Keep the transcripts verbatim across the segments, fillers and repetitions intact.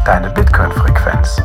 deine Bitcoin-Frequenz.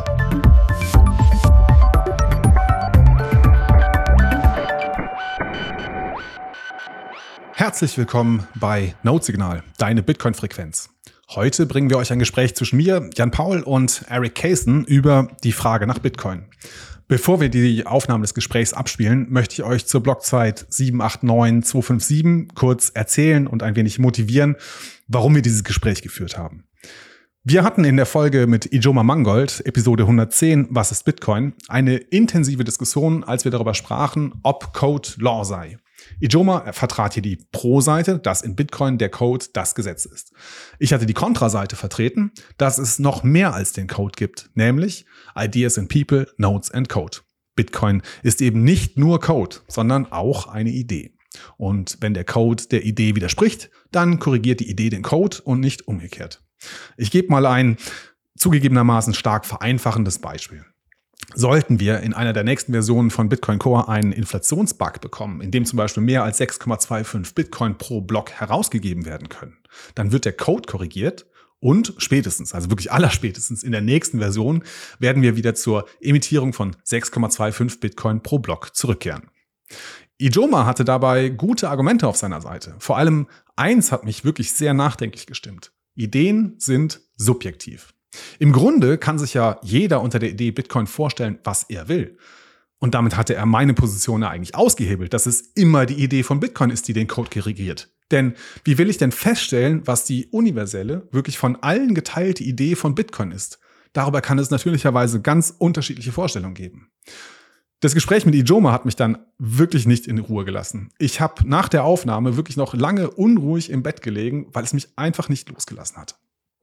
Herzlich willkommen bei Node-Signal, deine Bitcoin-Frequenz. Heute bringen wir euch ein Gespräch zwischen mir, Jan Paul und Eric Kaysen über die Frage nach Bitcoin. Bevor wir die Aufnahme des Gesprächs abspielen, möchte ich euch zur Blockzeit sieben acht neun zwei fünf sieben kurz erzählen und ein wenig motivieren, warum wir dieses Gespräch geführt haben. Wir hatten in der Folge mit Ijoma Mangold, Episode hundertzehn, Was ist Bitcoin?, eine intensive Diskussion, als wir darüber sprachen, ob Code Law sei. Ijoma vertrat hier die Pro-Seite, dass in Bitcoin der Code das Gesetz ist. Ich hatte die Kontra-Seite vertreten, dass es noch mehr als den Code gibt, nämlich Ideas and People, Nodes and Code. Bitcoin ist eben nicht nur Code, sondern auch eine Idee. Und wenn der Code der Idee widerspricht, dann korrigiert die Idee den Code und nicht umgekehrt. Ich gebe mal ein zugegebenermaßen stark vereinfachendes Beispiel. Sollten wir in einer der nächsten Versionen von Bitcoin Core einen Inflationsbug bekommen, in dem zum Beispiel mehr als sechs Komma fünfundzwanzig Bitcoin pro Block herausgegeben werden können, dann wird der Code korrigiert und spätestens, also wirklich allerspätestens in der nächsten Version, werden wir wieder zur Emittierung von sechs Komma fünfundzwanzig Bitcoin pro Block zurückkehren. Ijoma hatte dabei gute Argumente auf seiner Seite. Vor allem eins hat mich wirklich sehr nachdenklich gestimmt. Ideen sind subjektiv. Im Grunde kann sich ja jeder unter der Idee Bitcoin vorstellen, was er will. Und damit hatte er meine Position ja eigentlich ausgehebelt, dass es immer die Idee von Bitcoin ist, die den Code korrigiert. Denn wie will ich denn feststellen, was die universelle, wirklich von allen geteilte Idee von Bitcoin ist? Darüber kann es natürlicherweise ganz unterschiedliche Vorstellungen geben. Das Gespräch mit Ijoma hat mich dann wirklich nicht in Ruhe gelassen. Ich habe nach der Aufnahme wirklich noch lange unruhig im Bett gelegen, weil es mich einfach nicht losgelassen hat.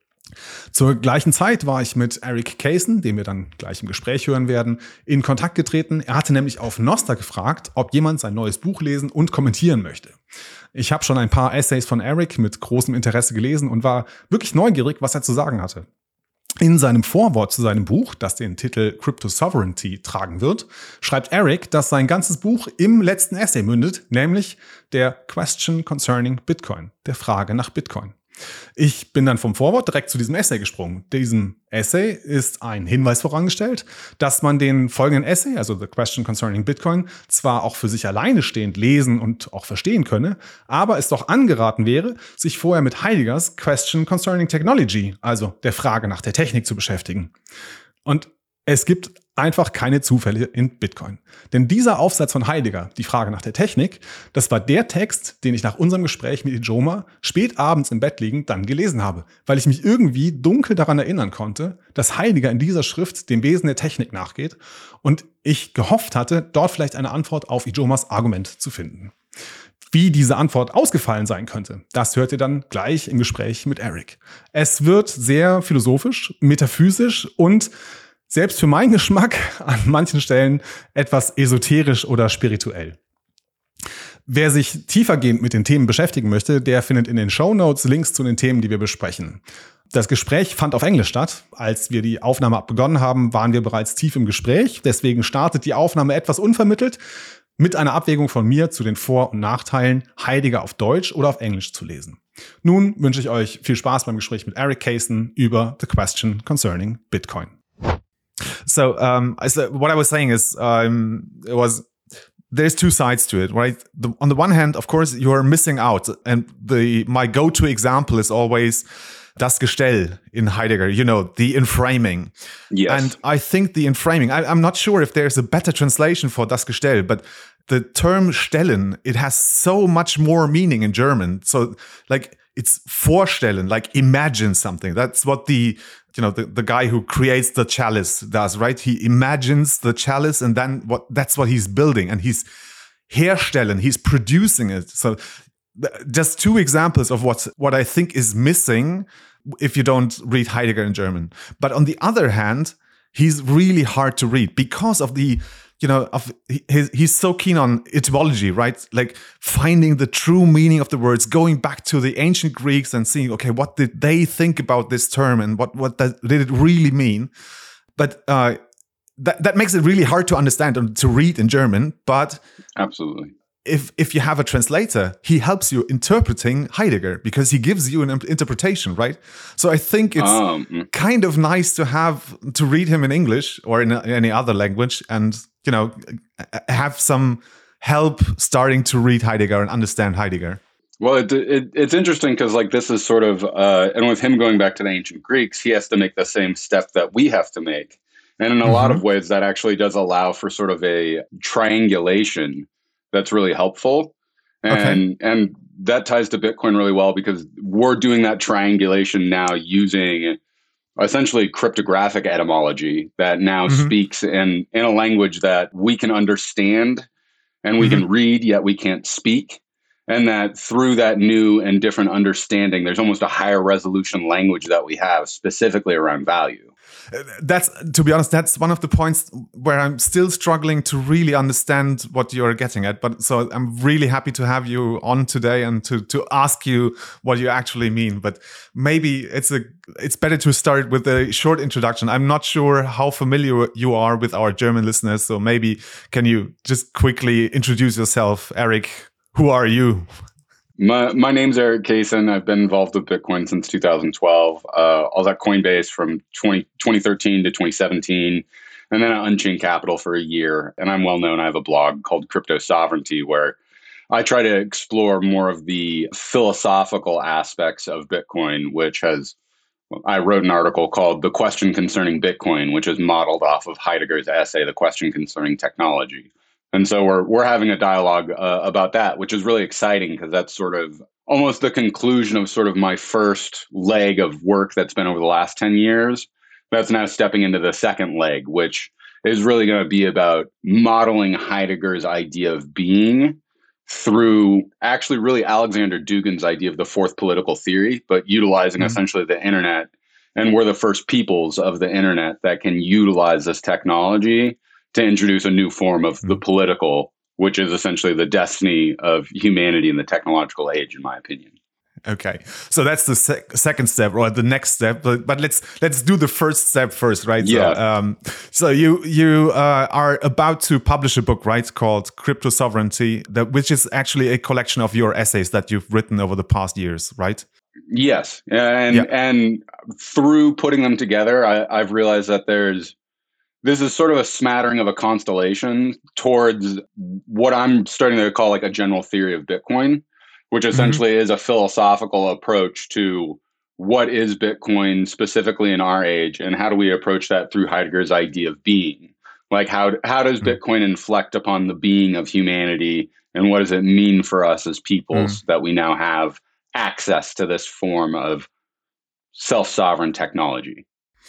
Zur gleichen Zeit war ich mit Eric Kaysen, den wir dann gleich im Gespräch hören werden, in Kontakt getreten. Er hatte nämlich auf Nostr gefragt, ob jemand sein neues Buch lesen und kommentieren möchte. Ich habe schon ein paar Essays von Eric mit großem Interesse gelesen und war wirklich neugierig, was er zu sagen hatte. In seinem Vorwort zu seinem Buch, das den Titel Crypto Sovereignty tragen wird, schreibt Eric, dass sein ganzes Buch im letzten Essay mündet, nämlich der Question Concerning Bitcoin, der Frage nach Bitcoin. Ich bin dann vom Vorwort direkt zu diesem Essay gesprungen. Diesem Essay ist ein Hinweis vorangestellt, dass man den folgenden Essay, also The Question Concerning Bitcoin, zwar auch für sich alleine stehend lesen und auch verstehen könne, aber es doch angeraten wäre, sich vorher mit Heideggers Question Concerning Technology, also der Frage nach der Technik, zu beschäftigen. Und es gibt einfach keine Zufälle in Bitcoin. Denn dieser Aufsatz von Heidegger, die Frage nach der Technik, das war der Text, den ich nach unserem Gespräch mit Ijoma spät abends im Bett liegend dann gelesen habe, weil ich mich irgendwie dunkel daran erinnern konnte, dass Heidegger in dieser Schrift dem Wesen der Technik nachgeht und ich gehofft hatte, dort vielleicht eine Antwort auf Ijomas Argument zu finden. Wie diese Antwort ausgefallen sein könnte, das hört ihr dann gleich im Gespräch mit Eric. Es wird sehr philosophisch, metaphysisch und selbst für meinen Geschmack an manchen Stellen etwas esoterisch oder spirituell. Wer sich tiefergehend mit den Themen beschäftigen möchte, der findet in den Shownotes Links zu den Themen, die wir besprechen. Das Gespräch fand auf Englisch statt. Als wir die Aufnahme begonnen haben, waren wir bereits tief im Gespräch. Deswegen startet die Aufnahme etwas unvermittelt mit einer Abwägung von mir zu den Vor- und Nachteilen, Heidegger auf Deutsch oder auf Englisch zu lesen. Nun wünsche ich euch viel Spaß beim Gespräch mit Eric Kaysen über The Question Concerning Bitcoin. So, um, so what I was saying is, um, it was, there's two sides to it, right? The, on the one hand, of course, you're missing out. And the, my go-to example is always das Gestell in Heidegger, you know, the inframing. Yes. And I think the inframing, I, I'm not sure if there's a better translation for das Gestell, but the term stellen, it has so much more meaning in German. So, like, it's vorstellen, like imagine something. That's what the, you know, the, the guy who creates the chalice does, right? He imagines the chalice and then what that's what he's building and he's herstellen, he's producing it. So th- just two examples of what, what I think is missing if you don't read Heidegger in German. But on the other hand, he's really hard to read because of the, you know, of his, he's so keen on etymology, right? Like finding the true meaning of the words, going back to the ancient Greeks and seeing, okay, what did they think about this term and what, what that, did it really mean? But uh, that, that makes it really hard to understand and to read in German. But absolutely, if if you have a translator, he helps you interpreting Heidegger because he gives you an interpretation, right? So I think it's um, kind of nice to have to read him in English or in any other language, and you know, have some help starting to read Heidegger and understand Heidegger. Well, it, it, it's interesting because like this is sort of, uh, and with him going back to the ancient Greeks, he has to make the same step that we have to make. And in a mm-hmm. lot of ways, that actually does allow for sort of a triangulation that's really helpful. And, okay. and that ties to Bitcoin really well because we're doing that triangulation now using essentially cryptographic etymology that now mm-hmm. speaks in, in a language that we can understand and we mm-hmm. can read, yet we can't speak. And that through that new and different understanding, there's almost a higher resolution language that we have specifically around value. That's, to be honest, that's one of the points where I'm still struggling to really understand what you're getting at. But so I'm really happy to have you on today and to, to ask you what you actually mean. But maybe it's a it's better to start with a short introduction. I'm not sure how familiar you are with our German listeners. So maybe can you just quickly introduce yourself, Eric? Who are you? My my name's Eric Kaysen. I've been involved with Bitcoin since two thousand twelve. Uh, I was at Coinbase from twenty thirteen to twenty seventeen, and then at Unchained Capital for a year. And I'm well known. I have a blog called Crypto Sovereignty, where I try to explore more of the philosophical aspects of Bitcoin, which has, I wrote an article called The Question Concerning Bitcoin, which is modeled off of Heidegger's essay, The Question Concerning Technology. And so we're we're having a dialogue uh, about that, which is really exciting because that's sort of almost the conclusion of sort of my first leg of work that's been over the last ten years. That's now stepping into the second leg, which is really going to be about modeling Heidegger's idea of being through actually really Alexander Dugin's idea of the fourth political theory, but utilizing mm-hmm. essentially the internet. And we're the first peoples of the internet that can utilize this technology to introduce a new form of the political, which is essentially the destiny of humanity in the technological age, in my opinion. Okay, so that's the sec- second step, or the next step. But, but let's let's do the first step first, right? Yeah. So, um, so you you uh, are about to publish a book, right, called Crypto Sovereignty, that which is actually a collection of your essays that you've written over the past years, right? Yes, and yeah. and through putting them together, I, I've realized that there's This is sort of a smattering of a constellation towards what I'm starting to call like a general theory of Bitcoin, which essentially mm-hmm. is a philosophical approach to what is Bitcoin specifically in our age, and how do we approach that through Heidegger's idea of being? Like how how does mm-hmm. Bitcoin inflect upon the being of humanity, and what does it mean for us as peoples mm-hmm. that we now have access to this form of self-sovereign technology?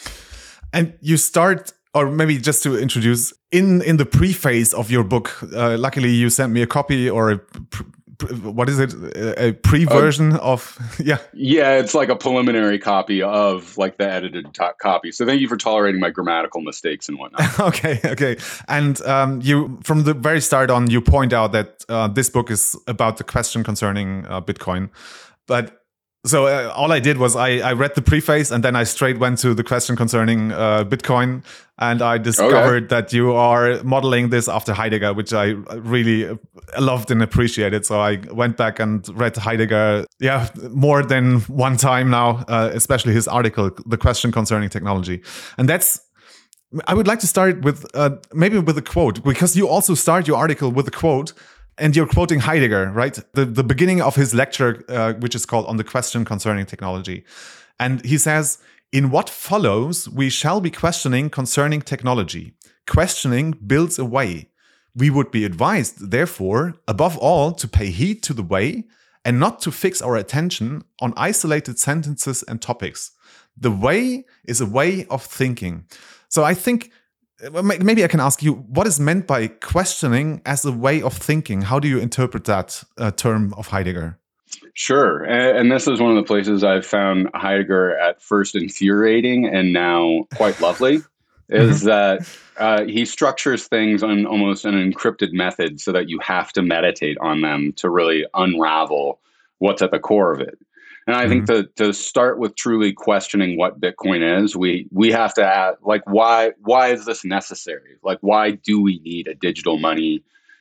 And you start. Or maybe just to introduce, in, in the preface of your book, uh, luckily you sent me a copy or a, pr- what is it, a pre-version uh, of, yeah. Yeah, it's like a preliminary copy of like the edited to- copy. So thank you for tolerating my grammatical mistakes and whatnot. okay, okay. And um, you, from the very start on, you point out that uh, this book is about the question concerning uh, Bitcoin. But So uh, all I did was I, I read the preface and then I straight went to the question concerning uh, Bitcoin, and I discovered okay. that you are modeling this after Heidegger, which I really loved and appreciated. So I went back and read Heidegger, yeah, more than one time now, uh, especially his article, The Question Concerning Technology. And that's, I would like to start with uh, maybe with a quote, because you also start your article with a quote. And you're quoting Heidegger, right? The the beginning of his lecture, uh, which is called On the Question Concerning Technology. And he says, in what follows, we shall be questioning concerning technology. Questioning builds a way. We would be advised, therefore, above all, to pay heed to the way and not to fix our attention on isolated sentences and topics. The way is a way of thinking. So I think maybe I can ask you, what is meant by questioning as a way of thinking? How do you interpret that uh, term of Heidegger? Sure. And, and this is one of the places I've found Heidegger at first infuriating and now quite lovely, is that uh, he structures things on almost an encrypted method so that you have to meditate on them to really unravel what's at the core of it. And I think mm-hmm. to to start with truly questioning what Bitcoin is, we we have to ask, like, why why is this necessary? Like, why do we need a digital money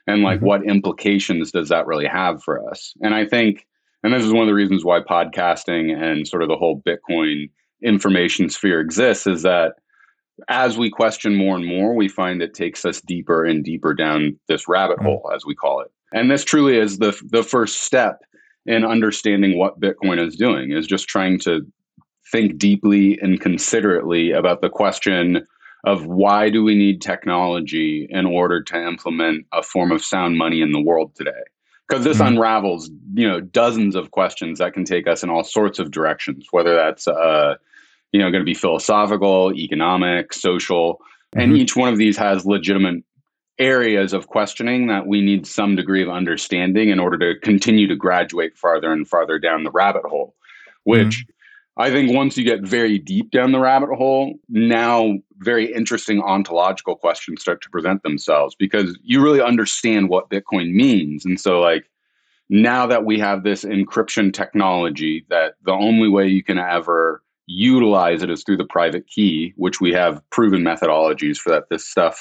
And like, Mm-hmm. what implications does that really have for us? And I think, and this is one of the reasons why podcasting and sort of the whole Bitcoin information sphere exists, is that as we question more and more, we find it takes us deeper and deeper down this rabbit hole, as we call it. And this truly is the the first step in understanding what Bitcoin is doing, is just trying to think deeply and considerately about the question of why do we need technology in order to implement a form of sound money in the world today? Because this Mhm. unravels, you know, dozens of questions that can take us in all sorts of directions, whether that's uh, you know, going to be philosophical, economic, social, and Mhm. each one of these has legitimate areas of questioning that we need some degree of understanding in order to continue to graduate farther and farther down the rabbit hole, which I think once you get very deep down the rabbit hole, now very interesting ontological questions start to present themselves, because you really understand what Bitcoin means. And so like, now that we have this encryption technology, that the only way you can ever utilize it is through the private key, which we have proven methodologies for that. This stuff,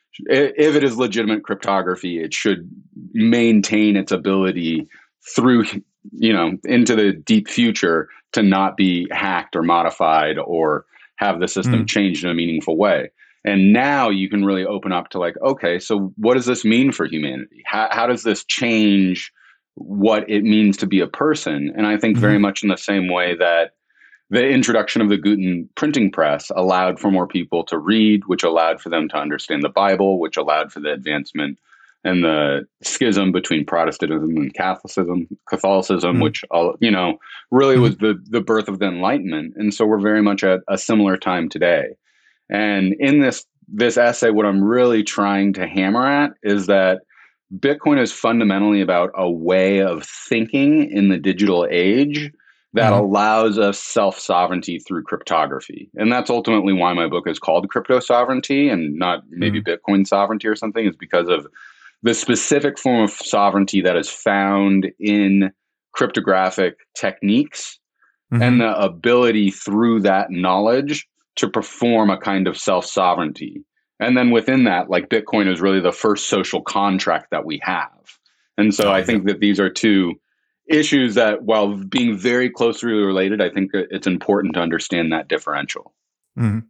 if it is legitimate cryptography, it should maintain its ability through, you know, into the deep future to not be hacked or modified or have the system Mm. changed in a meaningful way. And now you can really open up to like, okay, so what does this mean for humanity? How, how does this change what it means to be a person? And I think very Mhm. much in the same way that the introduction of the Gutenberg printing press allowed for more people to read, which allowed for them to understand the Bible, which allowed for the advancement and the schism between Protestantism and Catholicism, Catholicism, Mm. which, uh, you know, really Mhm. was the, the birth of the Enlightenment. And so we're very much at a similar time today. And in this, this essay, what I'm really trying to hammer at is that Bitcoin is fundamentally about a way of thinking in the digital age that Mhm. allows us self-sovereignty through cryptography. And that's ultimately why my book is called Crypto Sovereignty and not maybe Mm. Bitcoin sovereignty or something, is because of the specific form of sovereignty that is found in cryptographic techniques and Mhm. the ability through that knowledge to perform a kind of self-sovereignty. And then within that, like, Bitcoin is really the first social contract that we have. And so Oh, I yeah. think that these are two issues that, while being very closely related, I think that it's important to understand that differential. Mhm.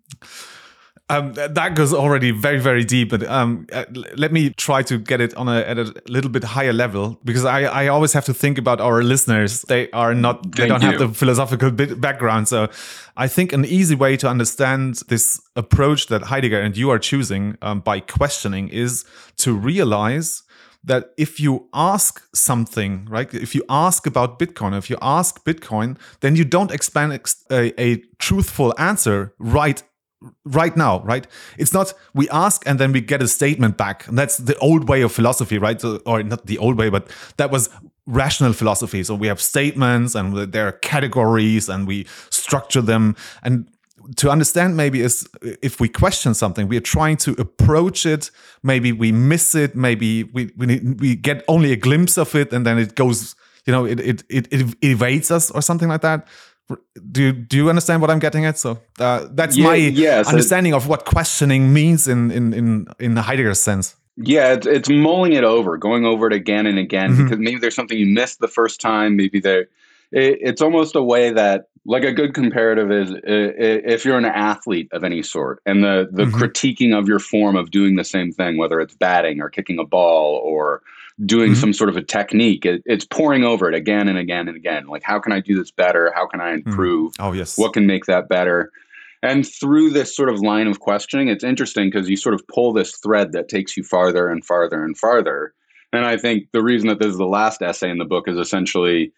Um, th- that goes already very, very deep. But um, uh, l- let me try to get it on a at a little bit higher level, because I, I always have to think about our listeners. They are not they Thank don't have you. the philosophical bit background. So I think an easy way to understand this approach that Heidegger and you are choosing, um, by questioning, is to realize that if you ask something, right? If you ask about Bitcoin, if you ask Bitcoin, then you don't expect a, a truthful answer right right now, right? It's not we ask and then we get a statement back. And that's the old way of philosophy, right? So, or not the old way, but that was rational philosophy. So we have statements and there are categories and we structure them. And to understand maybe is if we question something, we are trying to approach it. Maybe we miss it. Maybe we we, we get only a glimpse of it and then it goes, you know, it it it, it evades us or something like that. Do you, do you understand what I'm getting at? So uh, that's Yeah, my yes, it- understanding of what questioning means in in in in Heidegger's sense. Yeah, it's, it's mulling it over, going over it again and again, Mhm. because maybe there's something you missed the first time. Maybe there, it, it's almost a way that, like, a good comparative is, i- i- if you're an athlete of any sort, and the the Mhm. critiquing of your form of doing the same thing, whether it's batting or kicking a ball or doing Mhm. some sort of a technique, it, it's pouring over it again and again and again. Like, how can I do this better? How can I improve? Oh yes. What can make that better? And through this sort of line of questioning, it's interesting because you sort of pull this thread that takes you farther and farther and farther. And I think the reason that this is the last essay in the book is essentially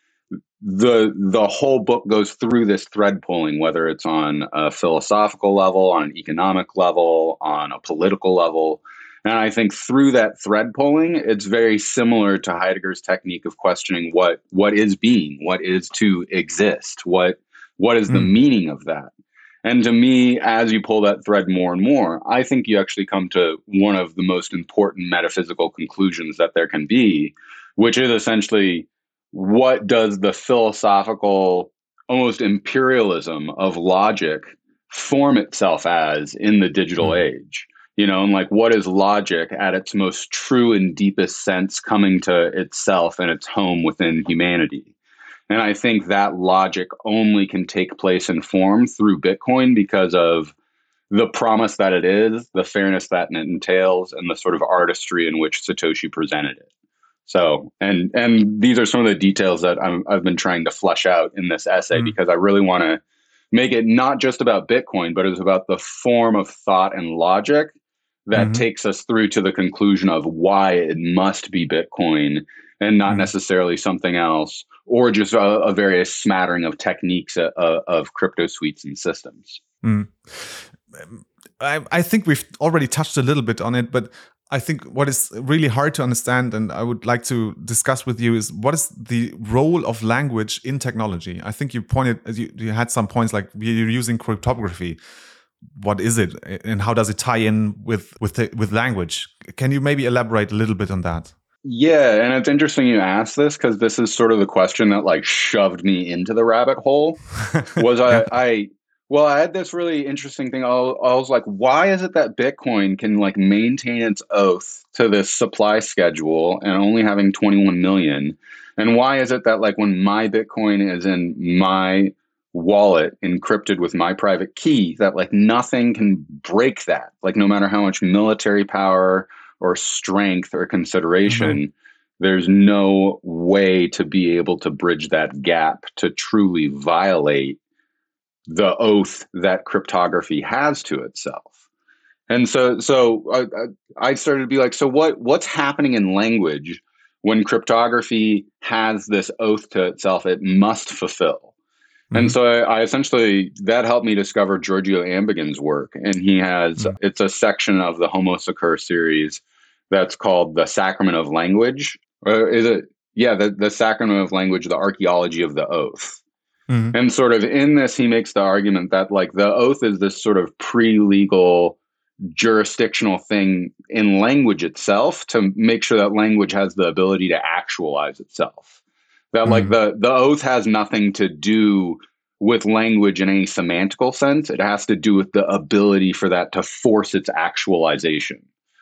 the the whole book goes through this thread pulling, whether it's on a philosophical level, on an economic level, on a political level. And I think through that thread pulling, it's very similar to Heidegger's technique of questioning what what is being, what is to exist, what what is the Mm. meaning of that. And to me, as you pull that thread more and more, I think you actually come to one of the most important metaphysical conclusions that there can be, which is essentially, what does the philosophical, almost imperialism of logic form itself as in the digital Mm. age? you know, and like what is logic at its most true and deepest sense coming to itself and its home within humanity. And I think that logic only can take place in form through Bitcoin because of the promise that it is, the fairness that it entails, and the sort of artistry in which Satoshi presented it. So, and and these are some of the details that I'm, I've been trying to flesh out in this essay mm. because I really want to make it not just about Bitcoin, but it's about the form of thought and logic that mm-hmm. takes us through to the conclusion of why it must be Bitcoin and not mm. necessarily something else, or just a, a various smattering of techniques of, of crypto suites and systems. Mm. I, I think we've already touched a little bit on it, but I think what is really hard to understand, and I would like to discuss with you, is what is the role of language in technology? I think you pointed, you, you had some points like you're using cryptography. What is it, and how does it tie in with with the, with language? Can you maybe elaborate a little bit on that? Yeah, and it's interesting you asked this because this is sort of the question that like shoved me into the rabbit hole. Was I I. Well, I had this really interesting thing. I was like, why is it that Bitcoin can like maintain its oath to this supply schedule and only having twenty-one million? And why is it that like when my Bitcoin is in my wallet encrypted with my private key, that like nothing can break that? Like no matter how much military power or strength or consideration, mm-hmm. there's no way to be able to bridge that gap to truly violate the oath that cryptography has to itself. And so so I, I started to be like, so what what's happening in language when cryptography has this oath to itself it must fulfill? Mm-hmm. And so I, I essentially, that helped me discover Giorgio Agamben's work. And he has, mm-hmm. it's a section of the Homo Secur series that's called The Sacrament of Language. Or is it? Yeah, the, the Sacrament of Language, the Archaeology of the Oath. Mm-hmm. And sort of in this, he makes the argument that like the oath is this sort of pre-legal jurisdictional thing in language itself to make sure that language has the ability to actualize itself. That mm-hmm. like the, the oath has nothing to do with language in any semantical sense. It has to do with the ability for that to force its actualization.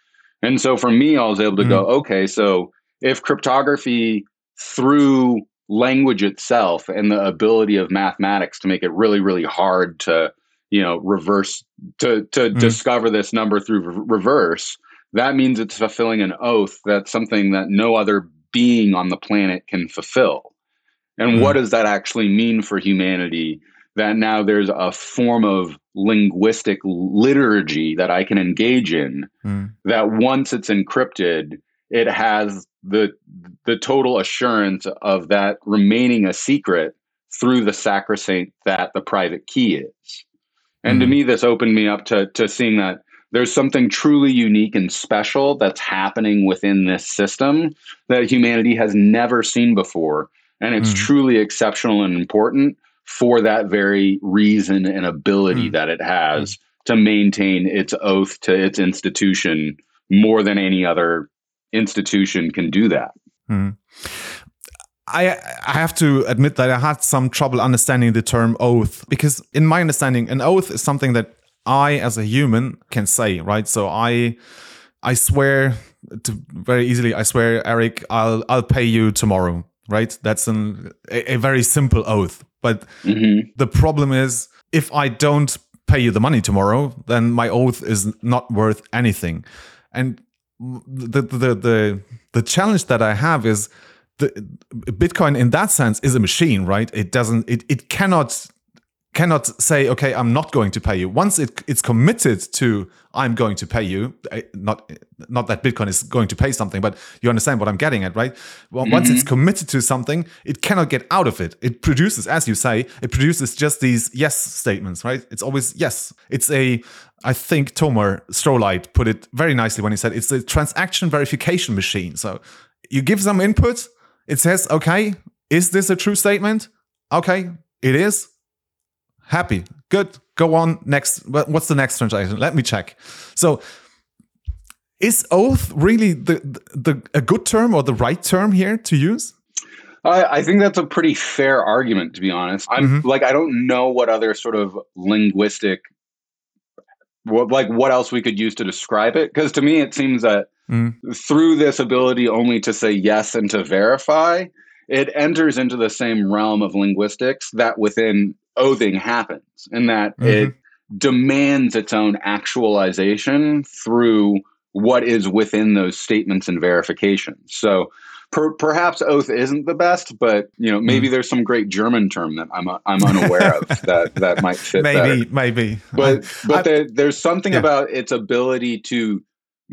And so for me, I was able to mm-hmm. go, okay, so if cryptography through language itself and the ability of mathematics to make it really, really hard to, you know, reverse, to to mm. discover this number through re- reverse, that means it's fulfilling an oath that's something that no other being on the planet can fulfill. And mm. what does that actually mean for humanity? That now there's a form of linguistic liturgy that I can engage in mm. that once it's encrypted, it has the the total assurance of that remaining a secret through the sacrosanct that the private key is. And mm. to me, this opened me up to to seeing that there's something truly unique and special that's happening within this system that humanity has never seen before. And it's mm. truly exceptional and important for that very reason and ability mm. that it has mm. to maintain its oath to its institution more than any other institution can do that. Hmm. I I have to admit that I had some trouble understanding the term oath, because in my understanding, an oath is something that I as a human can say, right? So I I swear to very easily, I swear, Eric, I'll I'll pay you tomorrow, right? That's an a, a very simple oath. But mm-hmm. the problem is, if I don't pay you the money tomorrow, then my oath is not worth anything. And The, the the the challenge that I have is the Bitcoin in that sense is a machine, right? It doesn't it it cannot cannot say, okay, I'm not going to pay you. Once it it's committed to I'm going to pay you, not not that Bitcoin is going to pay something, but you understand what I'm getting at, right? Well, mm-hmm. Once it's committed to something, it cannot get out of it. It produces, as you say, it produces just these yes statements, right? It's always yes. It's a I think Tomer Strolight put it very nicely when he said it's a transaction verification machine. So you give some input, it says, okay, is this a true statement? Okay, it is. Happy, good, go on, next. What's the next transaction? Let me check. So is oath really the, the a good term or the right term here to use? I, I think that's a pretty fair argument, to be honest. I'm mm-hmm. like, I don't know what other sort of linguistic what like what else we could use to describe it. Because to me, it seems that Mm. through this ability only to say yes and to verify, it enters into the same realm of linguistics that within oathing happens, in that Mhm. it demands its own actualization through what is within those statements and verifications. So per, perhaps oath isn't the best, but you know maybe Mm. there's some great German term that I'm I'm unaware of that that might fit maybe, better. maybe. But I, but I, there, there's something yeah. about its ability to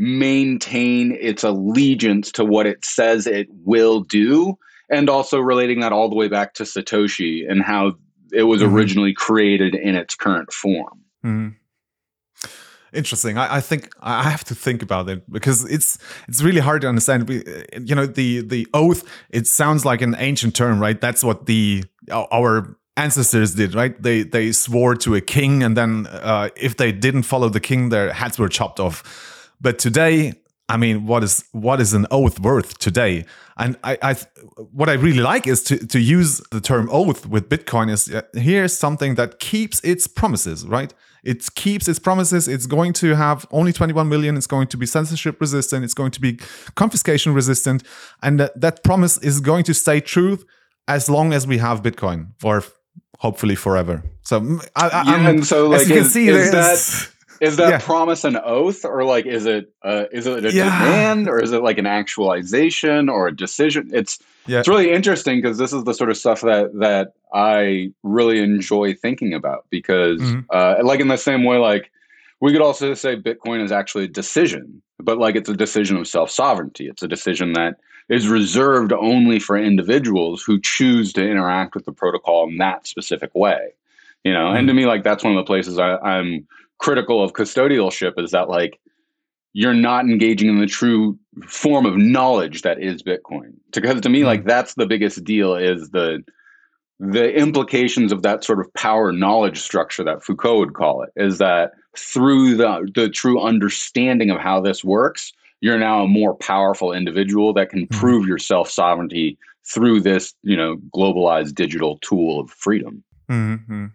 maintain its allegiance to what it says it will do, and also relating that all the way back to Satoshi and how it was Mhm. originally created in its current form. Mhm. Interesting. I, I think I have to think about it because it's it's really hard to understand. We, you know, the the oath. It sounds like an ancient term, right? That's what the our ancestors did, right? They they swore to a king, and then uh, if they didn't follow the king, their heads were chopped off. But today, I mean, what is what is an oath worth today? And I, I what I really like is to to use the term oath with Bitcoin. Is uh, here's something that keeps its promises, right? It keeps its promises. It's going to have only twenty-one million. It's going to be censorship resistant. It's going to be confiscation resistant. And that, that promise is going to stay true as long as we have Bitcoin, or hopefully forever. So, I, I, Yeah, I'm, and so as like you can is, see, is there's- that is that yeah. promise an oath, or like is it uh, is it a Yeah. demand, or is it like an actualization or a decision? It's Yeah. it's really interesting because this is the sort of stuff that that I really enjoy thinking about because Mhm. uh, like in the same way, like we could also say Bitcoin is actually a decision, but like it's a decision of self-sovereignty. It's a decision that is reserved only for individuals who choose to interact with the protocol in that specific way. You know, and to me, like that's one of the places I, I'm critical of custodialship is that like you're not engaging in the true form of knowledge that is Bitcoin. Because to me, like that's the biggest deal is the the implications of that sort of power knowledge structure that Foucault would call it is that through the the true understanding of how this works, you're now a more powerful individual that can Mhm. prove your self-sovereignty through this, you know, globalized digital tool of freedom. Mhm.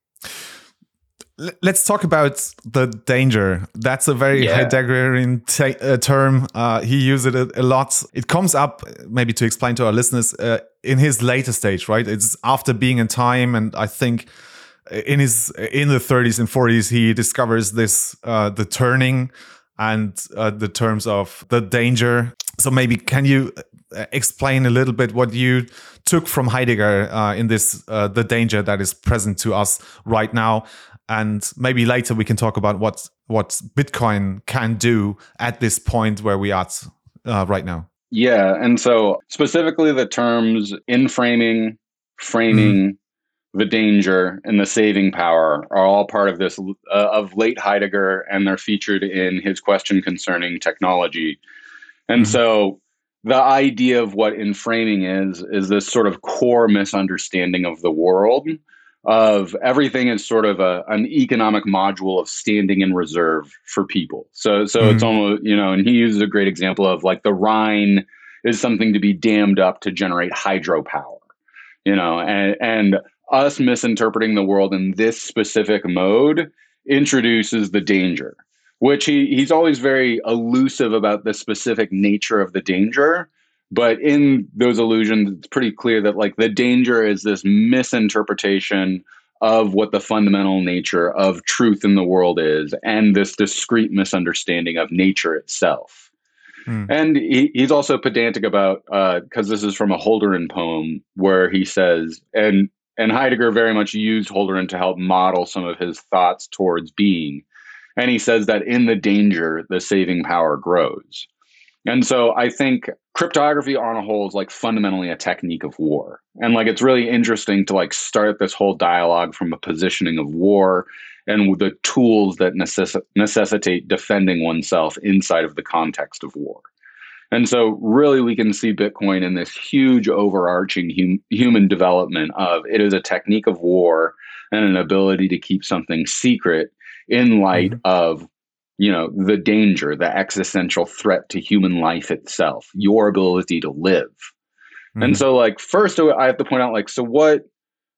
L- Let's talk about the danger. That's a very Yeah. Heideggerian ta- uh, term. Uh, he uses it a, a lot. It comes up, maybe to explain to our listeners, uh, in his later stage, right? It's after being in time, and I think in his in the thirties and forties, he discovers this uh, the turning and uh, the terms of the danger. So maybe can you uh, explain a little bit what you took from Heidegger uh, in this uh, the danger that is present to us right now? And maybe later we can talk about what what Bitcoin can do at this point where we are uh, right now. Yeah. And so specifically the terms in framing, framing, mm-hmm. the danger, and the saving power are all part of this uh, of late Heidegger, and they're featured in his question concerning technology. And mm-hmm. so the idea of what in framing is, is this sort of core misunderstanding of the world of everything is sort of a, an economic module of standing in reserve for people. So, so mm-hmm. it's almost, you know, and he uses a great example of like the Rhine is something to be dammed up to generate hydropower, you know, and, and us misinterpreting the world in this specific mode introduces the danger, which he, he's always very elusive about the specific nature of the danger. But in those illusions, it's pretty clear that like the danger is this misinterpretation of what the fundamental nature of truth in the world is, and this discrete misunderstanding of nature itself. Mm. And he, he's also pedantic about, because uh, this is from a Holderlin poem where he says, and and Heidegger very much used Holderlin to help model some of his thoughts towards being. And he says that in the danger, the saving power grows. And so I think cryptography on a whole is like fundamentally a technique of war. And like, it's really interesting to like start this whole dialogue from a positioning of war and the tools that necess- necessitate defending oneself inside of the context of war. And so really we can see Bitcoin in this huge overarching hum- human development of it is a technique of war and an ability to keep something secret in light mm-hmm. of, you know, the danger, the existential threat to human life itself, your ability to live. Mm-hmm. And so like, first I have to point out like, so what,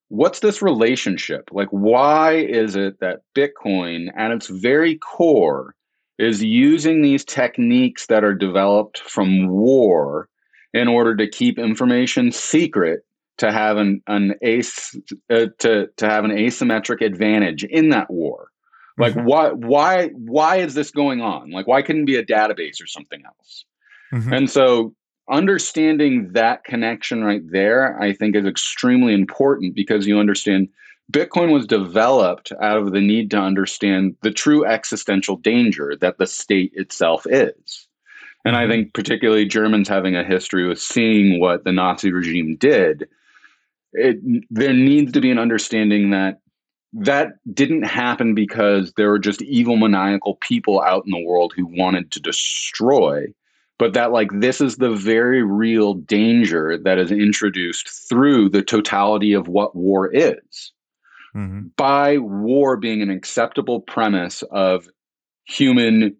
what's this relationship? Like, why is it that Bitcoin, at its very core, is using these techniques that are developed from war in order to keep information secret, to have an an as uh, to to have an asymmetric advantage in that war? Like, Mhm. why why why is this going on? Like, why couldn't it be a database or something else? Mhm. And so understanding that connection right there, I think, is extremely important, because you understand Bitcoin was developed out of the need to understand the true existential danger that the state itself is. And I Mhm. think particularly Germans having a history with seeing what the Nazi regime did, it, there needs to be an understanding that that didn't happen because there were just evil, maniacal people out in the world who wanted to destroy, but that, like, this is the very real danger that is introduced through the totality of what war is. Mhm. By war being an acceptable premise of human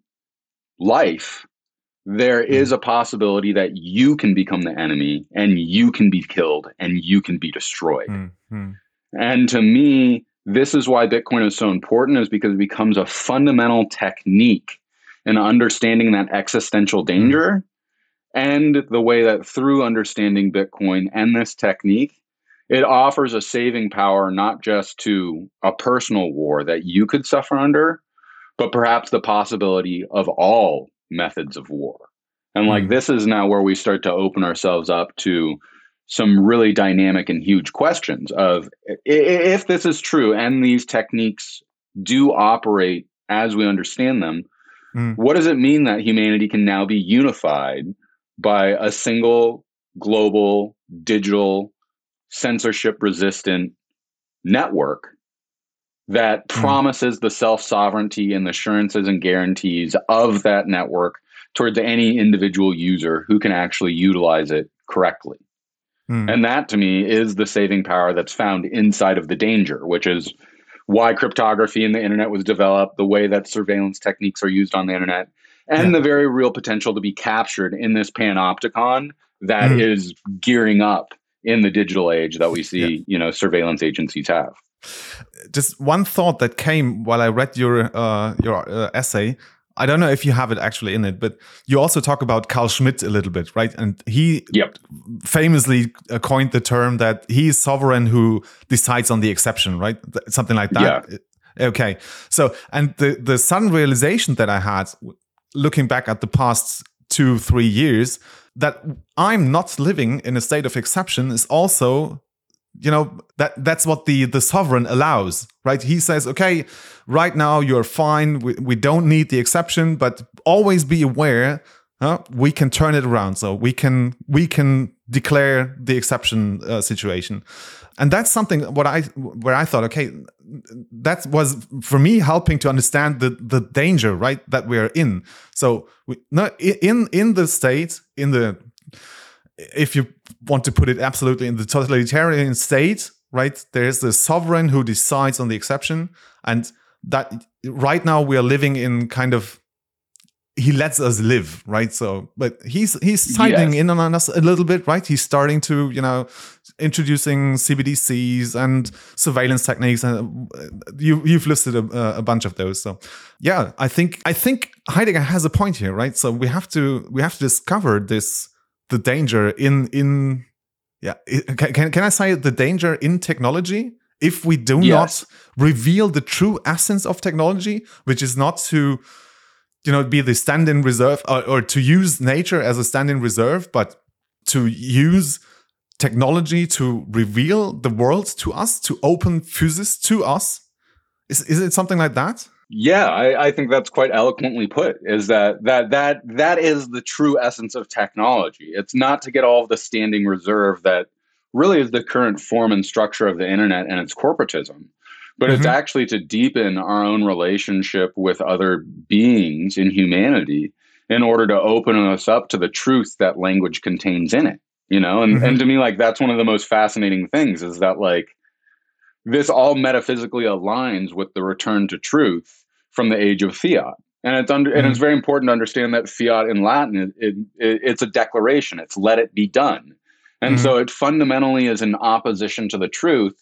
life, there is Mhm. a possibility that you can become the enemy and you can be killed and you can be destroyed. Mhm. And to me, this is why Bitcoin is so important, is because it becomes a fundamental technique in understanding that existential danger, and the way that through understanding Bitcoin and this technique, it offers a saving power, not just to a personal war that you could suffer under, but perhaps the possibility of all methods of war. And like, Mhm. this is now where we start to open ourselves up to some really dynamic and huge questions of, if this is true and these techniques do operate as we understand them, Mhm. what does it mean that humanity can now be unified by a single global digital censorship resistant network that Mhm. promises the self-sovereignty and the assurances and guarantees of that network towards any individual user who can actually utilize it correctly? Mhm. And that, to me, is the saving power that's found inside of the danger, which is why cryptography in the internet was developed, the way that surveillance techniques are used on the internet, and Yeah. the very real potential to be captured in this panopticon that Mhm. is gearing up in the digital age that we Yeah. see, you know, surveillance agencies have. Just one thought that came while I read your uh, your uh, essay. I don't know if you have it actually in it, but you also talk about Carl Schmitt a little bit, right? And he Yep. famously uh, coined the term that he is sovereign who decides on the exception, right? Th- Something like that. Okay. So, and the the sudden realization that I had looking back at the past two, three years, that I'm not living in a state of exception is also, you know, that that's what the the sovereign allows, right? He says, okay, right now you're fine, we, we don't need the exception, but always be aware, huh? We can turn it around, so we can we can declare the exception uh, situation. And that's something what I where I thought, okay, that was for me helping to understand the the danger, right, that we're in. So we, no, in in the state, in the, if you want to put it absolutely in the totalitarian state, right, there's the sovereign who decides on the exception, and that right now we are living in kind of, he lets us live, right? So, but he's he's sighting Yes. in on us a little bit, right? He's starting to, you know, introducing C B D Cs and surveillance techniques, and you you've listed a, a bunch of those. So, yeah, I think I think Heidegger has a point here, right? So we have to we have to discover this, the danger in in yeah can can, can I say the danger in technology if we do Yes. not reveal the true essence of technology, which is not to, you know, be the stand-in reserve, or, or to use nature as a stand-in reserve, but to use technology to reveal the world to us, to open physis to us. Is is it something like that? Yeah, I, I think that's quite eloquently put. Is that that that that is the true essence of technology. It's not to get all of the standing reserve that really is the current form and structure of the internet and its corporatism, but it's Mm-hmm. actually to deepen our own relationship with other beings in humanity in order to open us up to the truth that language contains in it. You know, and, Mm-hmm. and to me, like, that's one of the most fascinating things, is that, like, this all metaphysically aligns with the return to truth from the age of fiat. And it's under, and it's Mm-hmm. very important to understand that fiat in Latin, it, it, it's a declaration. It's let it be done. And Mm-hmm. so it fundamentally is in opposition to the truth.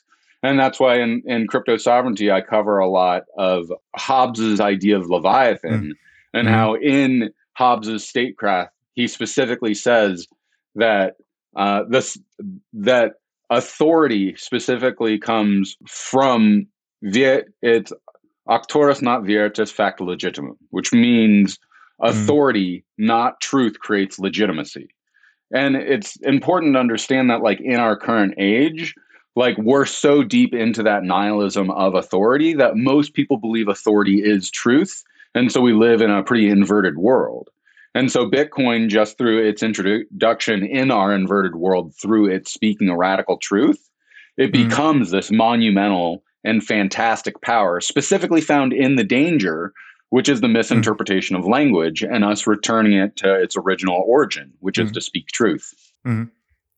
And that's why in, in Crypto Sovereignty, I cover a lot of Hobbes's idea of Leviathan mm. and mm-hmm. how in Hobbes's statecraft, he specifically says that uh, this that authority specifically comes from the it's auctorus not veritas facta legitimum, which means authority, mm. not truth, creates legitimacy. And it's important to understand that, like, in our current age, like, we're so deep into that nihilism of authority that most people believe authority is truth. And so we live in a pretty inverted world. And so Bitcoin, just through its introduction in our inverted world, through its speaking a radical truth, it mm. becomes this monumental and fantastic power, specifically found in the danger, which is the misinterpretation mm. of language and us returning it to its original origin, which mm. is to speak truth. Mm.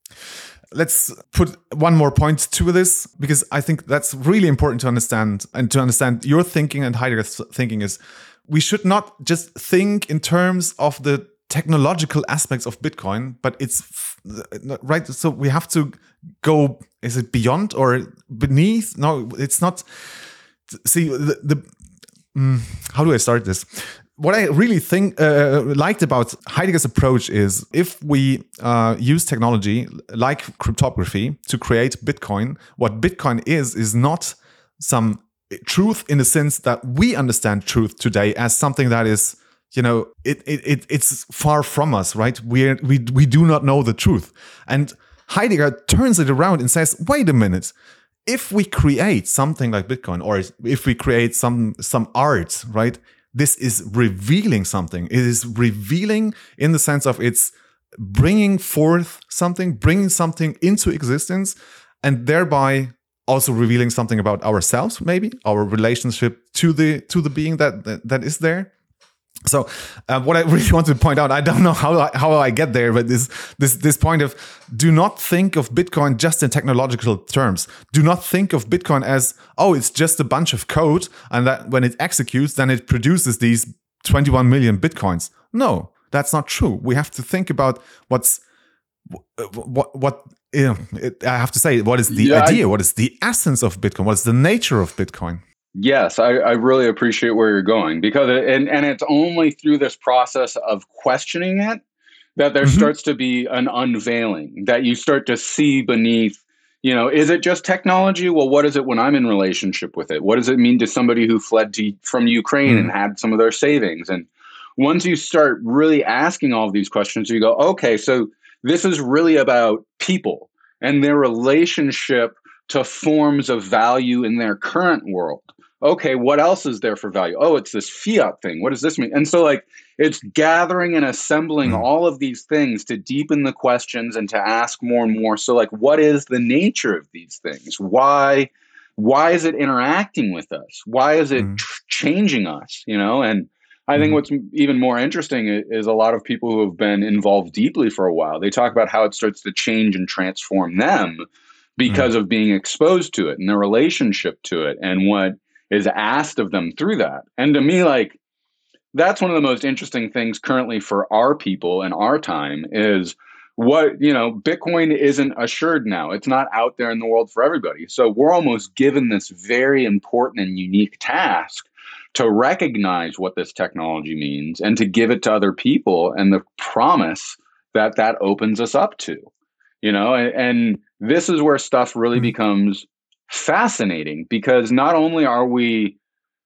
Let's put one more point to this, because I think that's really important to understand, and to understand your thinking and Heidegger's thinking is we should not just think in terms of the technological aspects of Bitcoin, but it's right. So we have to go, is it beyond or beneath? No, it's not. See, the, the mm, how do I start this? What I really think uh, liked about Heidegger's approach is if we uh, use technology like cryptography to create Bitcoin, what Bitcoin is, is not some truth in the sense that we understand truth today as something that is, you know, it it, it it's far from us, right? We we we do not know the truth. And Heidegger turns it around and says, wait a minute. If we create something like Bitcoin, or if we create some some art, right? This is revealing something. It is revealing in the sense of it's bringing forth something, bringing something into existence, and thereby also revealing something about ourselves, maybe our relationship to the to the being that that, that is there. So, uh, what I really want to point out, I don't know how I, how I get there, but this this this point of do not think of Bitcoin just in technological terms. Do not think of Bitcoin as, oh, it's just a bunch of code, and that when it executes, then it produces these twenty-one million Bitcoins. No, that's not true. We have to think about what's what what. You know, it, I have to say, what is the yeah, idea? I, what is the essence of Bitcoin? What is the nature of Bitcoin? Yes, I, I really appreciate where you're going, because it, and and it's only through this process of questioning it that there mm-hmm. starts to be an unveiling, that you start to see beneath, you know, is it just technology? Well, what is it when I'm in relationship with it? What does it mean to somebody who fled to, from Ukraine mm-hmm. and had some of their savings? And once you start really asking all of these questions, you go, okay, so this is really about people and their relationship to forms of value in their current world. Okay, what else is there for value? Oh, it's this fiat thing. What does this mean? And so, like, it's gathering and assembling mm. all of these things to deepen the questions and to ask more and more. So, like, what is the nature of these things? Why, why is it interacting with us? Why is it mm. tr- changing us? You know, and I think what's even more interesting is a lot of people who have been involved deeply for a while, they talk about how it starts to change and transform them because mm. of being exposed to it and their relationship to it and what is asked of them through that. And to me, like, that's one of the most interesting things currently for our people and our time is what, you know, Bitcoin isn't assured now. It's not out there in the world for everybody. So we're almost given this very important and unique task to recognize what this technology means and to give it to other people, and the promise that that opens us up to, you know, and, and this is where stuff really mm-hmm. becomes fascinating, because not only are we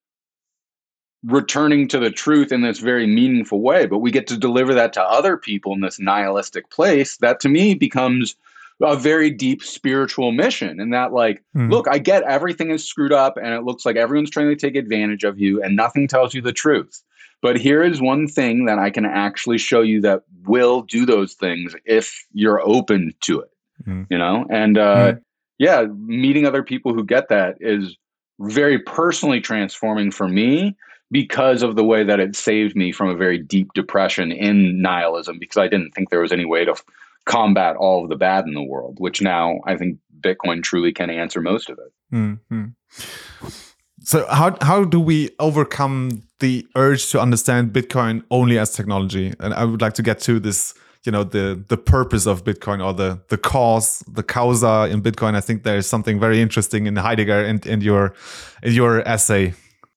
returning to the truth in this very meaningful way, but we get to deliver that to other people in this nihilistic place that to me becomes a very deep spiritual mission. And that, like, mm. look, I get everything is screwed up and it looks like everyone's trying to take advantage of you and nothing tells you the truth. But here is one thing that I can actually show you that will do those things if you're open to it, mm. you know? And, uh, mm. yeah, meeting other people who get that is very personally transforming for me because of the way that it saved me from a very deep depression in nihilism, because I didn't think there was any way to f- combat all of the bad in the world, which now I think Bitcoin truly can answer most of it. Mm-hmm. So how how do we overcome the urge to understand Bitcoin only as technology? And I would like to get to this you know, the the purpose of Bitcoin or the the cause, the causa in Bitcoin. I think there is something very interesting in Heidegger and in your in your essay.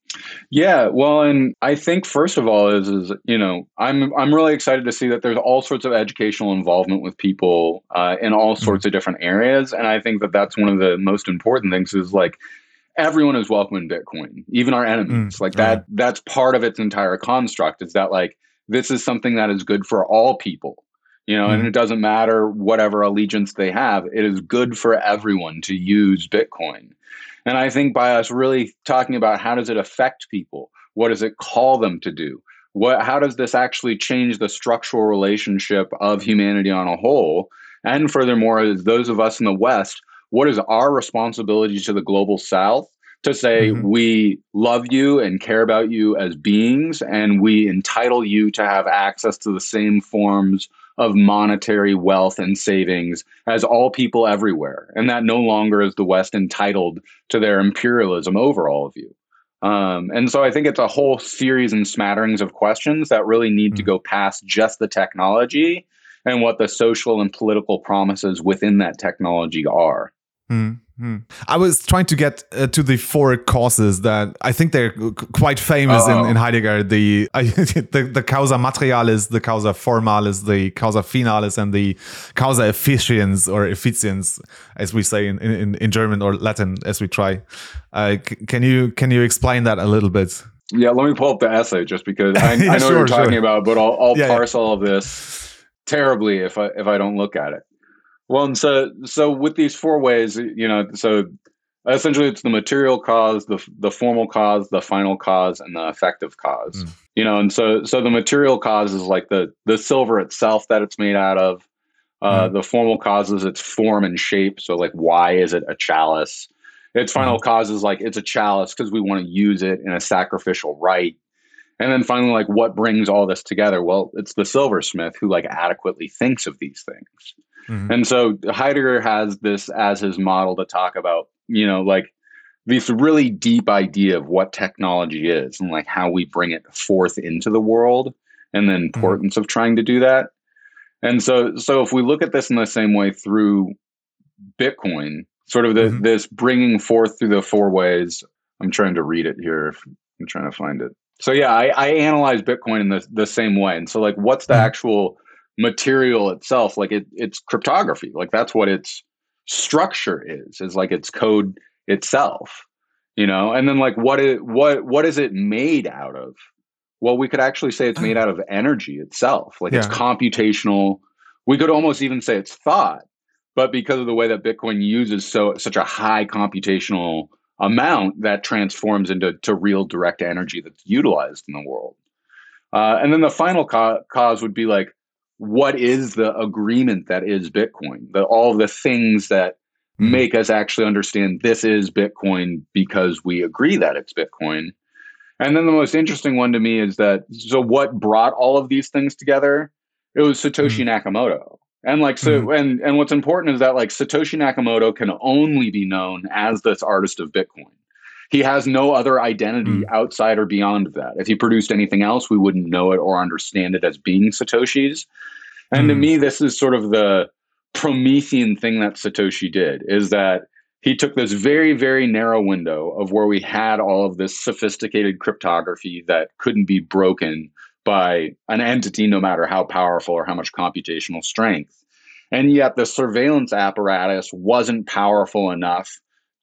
Yeah, well, and I think first of all is is you know I'm I'm really excited to see that there's all sorts of educational involvement with people uh, in all sorts mm. of different areas, and I think that that's one of the most important things is like everyone is welcome in Bitcoin, even our enemies. Mm. Like that right. That's part of its entire construct. Is that like this is something that is good for all people, you know, mm. and it doesn't matter whatever allegiance they have. It is good for everyone to use Bitcoin. And I think by us really talking about how does it affect people, what does it call them to do, what, how does this actually change the structural relationship of humanity on a whole? And furthermore, as those of us in the West, what is our responsibility to the global South to say mm-hmm. we love you and care about you as beings, and we entitle you to have access to the same forms of monetary wealth and savings as all people everywhere, and that no longer is the West entitled to their imperialism over all of you. Um, and so I think it's a whole series and smatterings of questions that really need mm-hmm. to go past just the technology and what the social and political promises within that technology are. Mm-hmm. I was trying to get uh, to the four causes that I think they're quite famous in, in Heidegger. The, uh, the the causa materialis, the causa formalis, the causa finalis, and the causa efficiens or efficiens, as we say in, in, in German or Latin, as we try. Uh, c- can you can you explain that a little bit? Yeah, let me pull up the essay just because I, yeah, I know sure, what you're talking sure. about, but I'll, I'll yeah, parse yeah. all of this terribly if I if I don't look at it. Well, and so so with these four ways, you know, so essentially it's the material cause, the the formal cause, the final cause, and the effective cause. Mm. You know, and so so the material cause is like the the silver itself that it's made out of. Uh, mm. The formal cause is its form and shape. So like, why is it a chalice? Its final mm. cause is like it's a chalice because we want to use it in a sacrificial rite. And then finally, like, what brings all this together? Well, it's the silversmith who like adequately thinks of these things. Mm-hmm. And so Heidegger has this as his model to talk about, you know, like this really deep idea of what technology is and like how we bring it forth into the world and the importance mm-hmm. of trying to do that. And so, so if we look at this in the same way through Bitcoin, sort of the, mm-hmm. this bringing forth through the four ways, I'm trying to read it here. I'm trying to find it. So yeah, I, I analyze Bitcoin in the, the same way. And so like, what's the mm-hmm. actual material itself? Like it, it's cryptography. Like that's what its structure is, is like its code itself, you know? And then like, what is, what, what is it made out of? Well, we could actually say it's made out of energy itself. Like yeah. it's computational. We could almost even say it's thought, but because of the way that Bitcoin uses so, such a high computational amount, that transforms into to real direct energy that's utilized in the world. Uh, and then the final co- cause would be like, what is the agreement that is Bitcoin? The, all the things that mm-hmm. make us actually understand this is Bitcoin because we agree that it's Bitcoin. And then the most interesting one to me is that, so what brought all of these things together? It was Satoshi mm-hmm. Nakamoto. And like, so, mm-hmm. and, and what's important is that like Satoshi Nakamoto can only be known as this artist of Bitcoin. He has no other identity mm. outside or beyond of that. If he produced anything else, we wouldn't know it or understand it as being Satoshi's. And mm. to me, this is sort of the Promethean thing that Satoshi did, is that he took this very, very narrow window of where we had all of this sophisticated cryptography that couldn't be broken by an entity, no matter how powerful or how much computational strength. And yet the surveillance apparatus wasn't powerful enough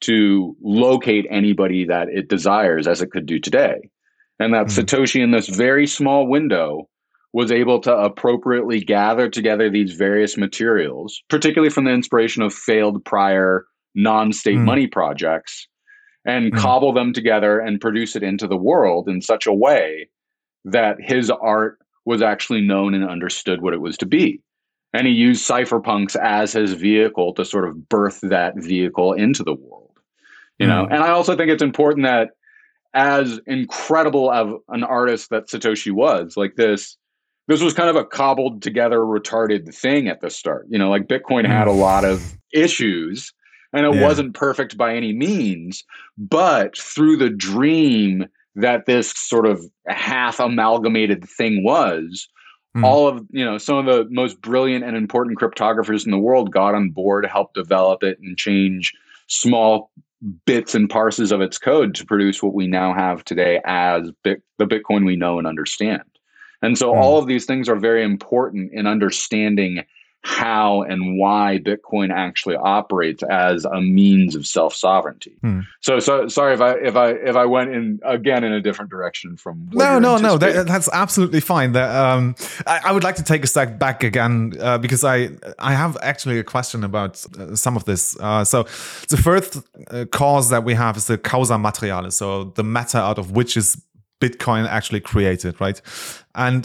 to locate anybody that it desires as it could do today. And that mm. Satoshi in this very small window was able to appropriately gather together these various materials, particularly from the inspiration of failed prior non-state mm. money projects, and mm. cobble them together and produce it into the world in such a way that his art was actually known and understood what it was to be. And he used cypherpunks as his vehicle to sort of birth that vehicle into the world. You know, mm. and I also think it's important that as incredible of an artist that Satoshi was, like this, this was kind of a cobbled together, retarded thing at the start. You know, like Bitcoin mm. had a lot of issues and it yeah. wasn't perfect by any means, but through the dream that this sort of half amalgamated thing was, mm. all of, you know, some of the most brilliant and important cryptographers in the world got on board, helped develop it and change small bits and parses of its code to produce what we now have today as Bit- the Bitcoin we know and understand. And so mm. all of these things are very important in understanding how and why Bitcoin actually operates as a means of self-sovereignty. Hmm. So, so sorry if I if I if I went in again in a different direction from what no no no that, that's absolutely fine. That, um, I, I would like to take a step back again uh, because I I have actually a question about uh, some of this. Uh, so the first uh, cause that we have is the causa materialis, so the matter out of which is Bitcoin actually created, right? And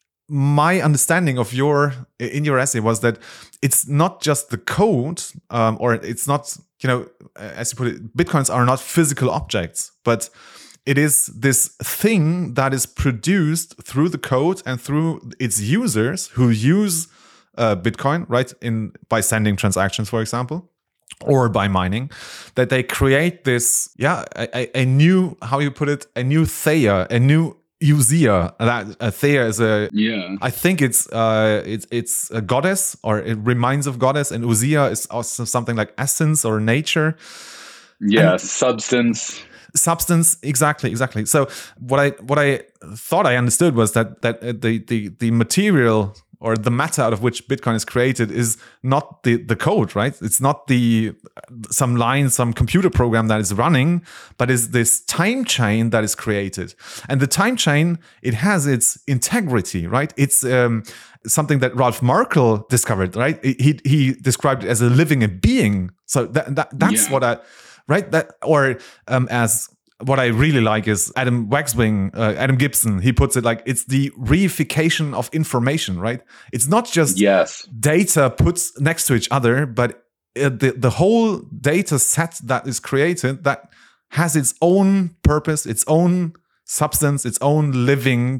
my understanding of your in your essay was that it's not just the code, um, or it's not, you know, as you put it, Bitcoins are not physical objects, but it is this thing that is produced through the code and through its users who use uh, Bitcoin, right? In by sending transactions, for example, or by mining, that they create this, yeah, a, a new, how you put it, a new Theia, a new Usea. That uh, Theia is a, yeah. I think it's uh, it's it's a goddess, or it reminds of goddess, and Usea is also something like essence or nature. Yeah, and substance. Substance, exactly, exactly. So what I what I thought I understood was that that the the the material or the matter out of which Bitcoin is created is not the, the code, right? It's not the some line, some computer program that is running, but is this time chain that is created. And the time chain, it has its integrity, right? It's um, something that Ralph Merkle discovered, right? He he described it as a living being. So that, that that's yeah. what I, right? That or um, as what I really like is Adam Waxwing, uh, Adam Gibson. He puts it like it's the reification of information, right? It's not just yes. data put next to each other, but uh, the the whole data set that is created that has its own purpose, its own substance, its own living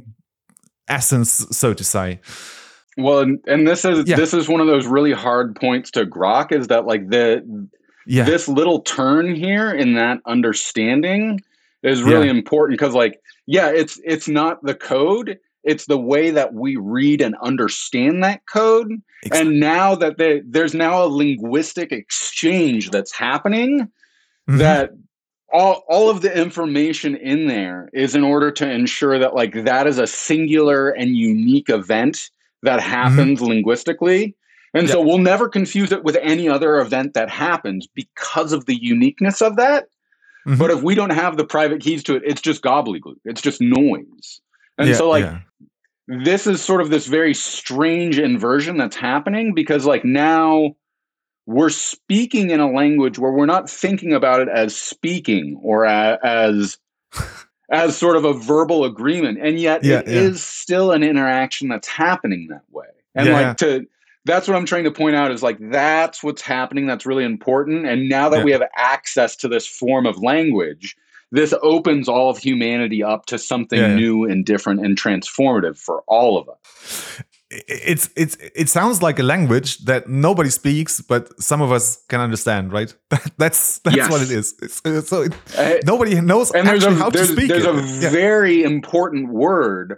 essence, so to say. Well, and, and this is yeah. this is one of those really hard points to grok, is that like the yeah. this little turn here in that understanding is really yeah. important, because like, yeah, it's it's not the code, it's the way that we read and understand that code. Exactly. And now that they, there's now a linguistic exchange that's happening, mm-hmm. that all, all of the information in there is in order to ensure that like that is a singular and unique event that happens mm-hmm. linguistically. And yep. so we'll never confuse it with any other event that happens because of the uniqueness of that. Mm-hmm. But if we don't have the private keys to it, it's just gobbledygook. It's just noise. And yeah, so like, yeah. this is sort of this very strange inversion that's happening, because like now we're speaking in a language where we're not thinking about it as speaking or a, as as sort of a verbal agreement. And yet yeah, it yeah. is still an interaction that's happening that way. And yeah. like to... That's what I'm trying to point out, is like, that's what's happening. That's really important. And now that yeah. we have access to this form of language, this opens all of humanity up to something yeah. new and different and transformative for all of us. It's it's it sounds like a language that nobody speaks, but some of us can understand, right? that's that's yes. what it is. It's, so it, uh, nobody knows and actually a, how to speak. There's it. a yeah. very important word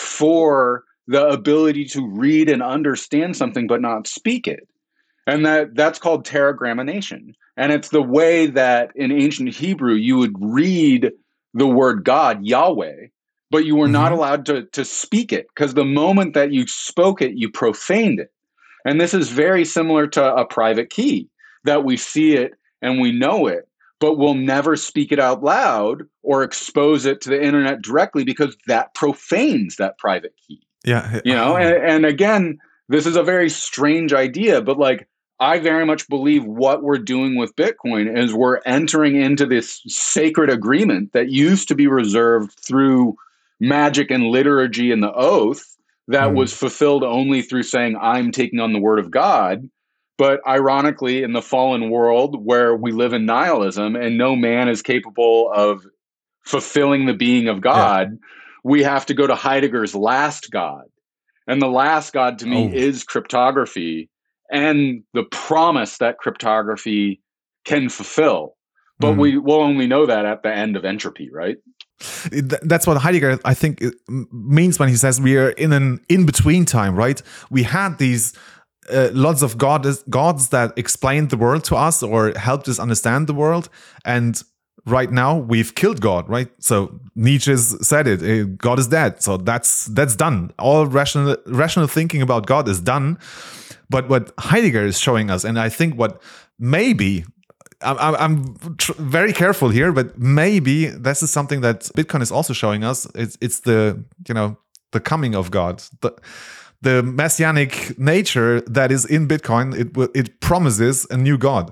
for the ability to read and understand something but not speak it. And that that's called tetragrammaton. And it's the way that in ancient Hebrew you would read the word God, Yahweh, but you were mm-hmm. not allowed to, to speak it, because the moment that you spoke it, you profaned it. And this is very similar to a private key, that we see it and we know it, but we'll never speak it out loud or expose it to the internet directly, because that profanes that private key. Yeah. You know, and, and again, this is a very strange idea, but like, I very much believe what we're doing with Bitcoin is we're entering into this sacred agreement that used to be reserved through magic and liturgy and the oath, that mm. was fulfilled only through saying, I'm taking on the word of God. But ironically, in the fallen world where we live in nihilism and no man is capable of fulfilling the being of God, yeah. we have to go to Heidegger's last God. And the last God to me oh. is cryptography and the promise that cryptography can fulfill. But mm. we will only know that at the end of entropy, right? Th- That's what Heidegger, I think, it m- means when he says we are in an in-between time, right? We had these uh, lots of gods, gods that explained the world to us or helped us understand the world, and right now we've killed God, right? So Nietzsche said it: eh, God is dead. So that's that's done. All rational rational thinking about God is done. But what Heidegger is showing us, and I think what maybe I'm, I'm tr- very careful here, but maybe this is something that Bitcoin is also showing us. It's it's the you know the coming of God, the the messianic nature that is in Bitcoin. It will- it promises a new God,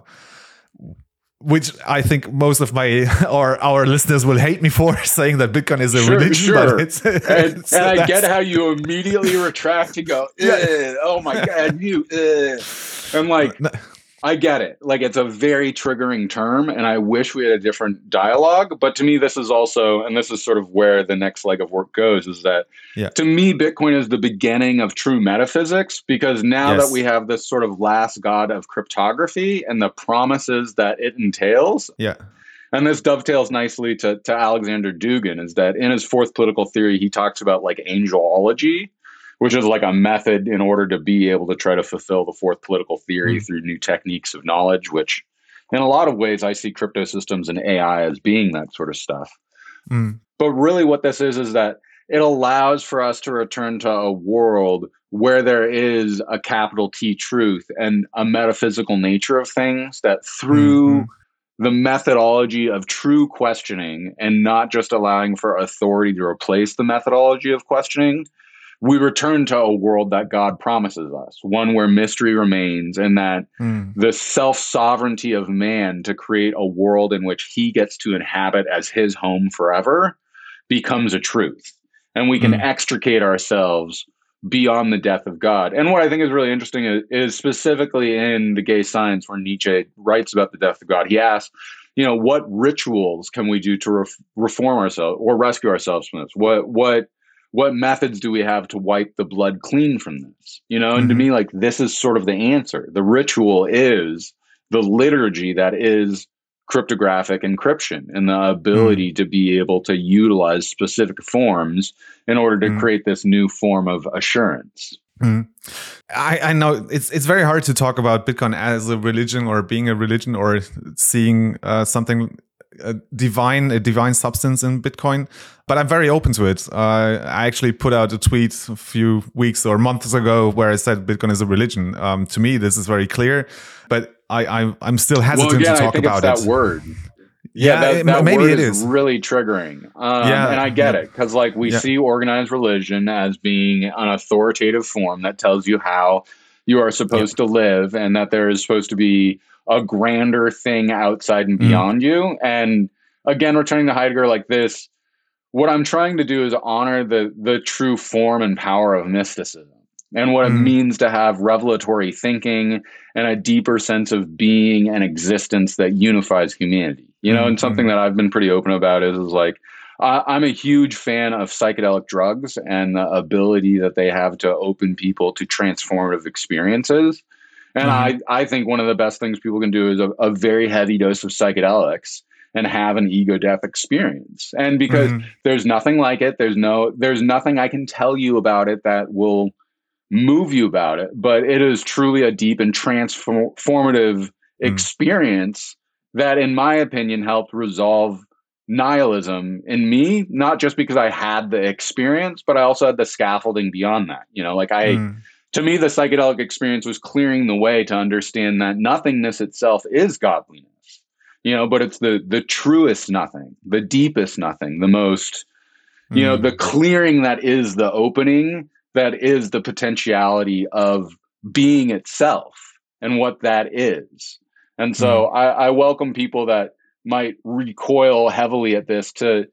which I think most of my or our listeners will hate me for saying that Bitcoin is a Sure, religion. sure. But it's, And, it's- and I get that's- how you immediately retract and go, Yeah. "Ugh, oh my God, you, ugh." I'm like, No. I get it. Like, it's a very triggering term, and I wish we had a different dialogue. But to me, this is also, and this is sort of where the next leg of work goes, is that Yeah. to me, Bitcoin is the beginning of true metaphysics, because now Yes. that we have this sort of last god of cryptography and the promises that it entails, Yeah. and this dovetails nicely to, to Alexander Dugin, is that in his fourth political theory, he talks about like angelology, which is like a method in order to be able to try to fulfill the fourth political theory Mm. through new techniques of knowledge, which in a lot of ways, I see crypto systems and A I as being that sort of stuff. Mm. But really what this is, is that it allows for us to return to a world where there is a capital T truth and a metaphysical nature of things, that through Mhm. the methodology of true questioning and not just allowing for authority to replace the methodology of questioning, we return to a world that God promises us, one where mystery remains, and that Mm. the self-sovereignty of man to create a world in which he gets to inhabit as his home forever becomes a truth. And we can Mm. extricate ourselves beyond the death of God. And what I think is really interesting is, is specifically in The Gay Science, where Nietzsche writes about the death of God, he asks, you know, what rituals can we do to re- reform ourselves or rescue ourselves from this? What, what, what methods do we have to wipe the blood clean from this? You know, and Mhm. to me, like, this is sort of the answer. The ritual is the liturgy that is cryptographic encryption, and the ability to be able to utilize specific forms in order to Mm. create this new form of assurance. Mm. I, I know it's it's very hard to talk about Bitcoin as a religion or being a religion or seeing uh, something a divine a divine substance in Bitcoin, but I'm very open to it. Uh, I actually put out a tweet a few weeks or months ago where I said Bitcoin is a religion. Um, to me, this is very clear, but I, I I'm still hesitant Well, again, to I talk think about it's that it. word. Yeah, Yeah, that, it- that maybe word it is is. really triggering. Um, Yeah, and I get yeah. it, because like we Yeah. see organized religion as being an authoritative form that tells you how you are supposed to live, and that there is supposed to be a grander thing outside and Mm. beyond you. And again, returning to Heidegger, like this, what I'm trying to do is honor the the true form and power of mysticism, and what it Mm. means to have revelatory thinking and a deeper sense of being and existence that unifies humanity. You know, Mm, and something mm. that I've been pretty open about is, is like, I, I'm a huge fan of psychedelic drugs and the ability that they have to open people to transformative experiences. And Mhm. I, I think one of the best things people can do is a, a very heavy dose of psychedelics and have an ego death experience. And because Mhm. there's nothing like it, there's no, there's nothing I can tell you about it that will move you about it, but it is truly a deep and transformative experience that, in my opinion, helped resolve nihilism in me, not just because I had the experience, but I also had the scaffolding beyond that. You know, like I, Mm. to me, the psychedelic experience was clearing the way to understand that nothingness itself is godliness, you know, but it's the, the truest nothing, the deepest nothing, the most, you know, Mm. the clearing that is the opening, that is the potentiality of being itself and what that is. And so I, I welcome people that might recoil heavily at this to,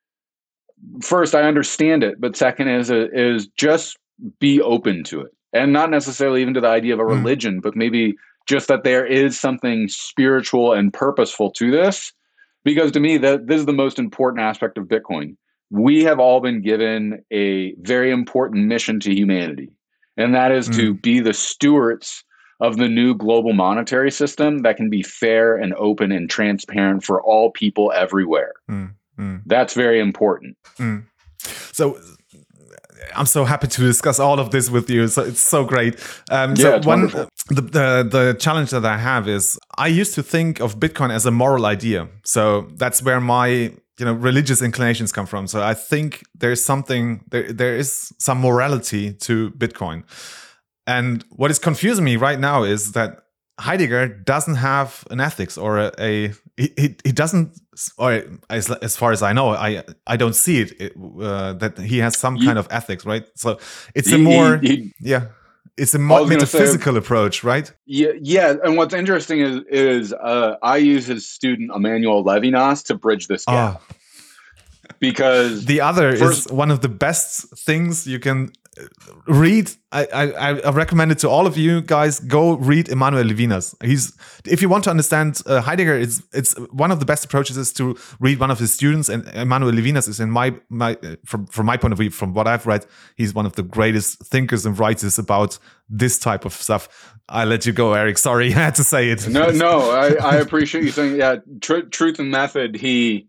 first, I understand it, but second is, is just be open to it. And not necessarily even to the idea of a Mm. religion, but maybe just that there is something spiritual and purposeful to this. Because to me, that this is the most important aspect of Bitcoin. We have all been given a very important mission to humanity, and that is to Mm. be the stewards of the new global monetary system that can be fair and open and transparent for all people everywhere. Mm. Mm. That's very important. Mm. So I'm so happy to discuss all of this with you. So it's so great. Um, yeah, so it's one, wonderful. The, the the challenge that I have is I used to think of Bitcoin as a moral idea. So that's where my you know religious inclinations come from. So I think there's something there there is some morality to Bitcoin. And what is confusing me right now is that Heidegger doesn't have an ethics or a, a he, he doesn't, or as, as far as I know, I I don't see it, it uh, that he has some he, kind of ethics, right? So it's a more he, he, yeah, it's a more metaphysical say, approach, right? Yeah, yeah. And what's interesting is is uh, I use his student Emmanuel Levinas to bridge this gap. Oh. Because the other first, is one of the best things you can read. I, I I recommend it to all of you guys. Go read Emmanuel Levinas. He's if you want to understand uh, Heidegger, it's it's one of the best approaches is to read one of his students. And Emmanuel Levinas is in my my from from my point of view, from what I've read, he's one of the greatest thinkers and writers about this type of stuff. I let you go, Eric. Sorry, I had to say it. No, no, I, I appreciate you saying yeah. Tr- truth and method. He.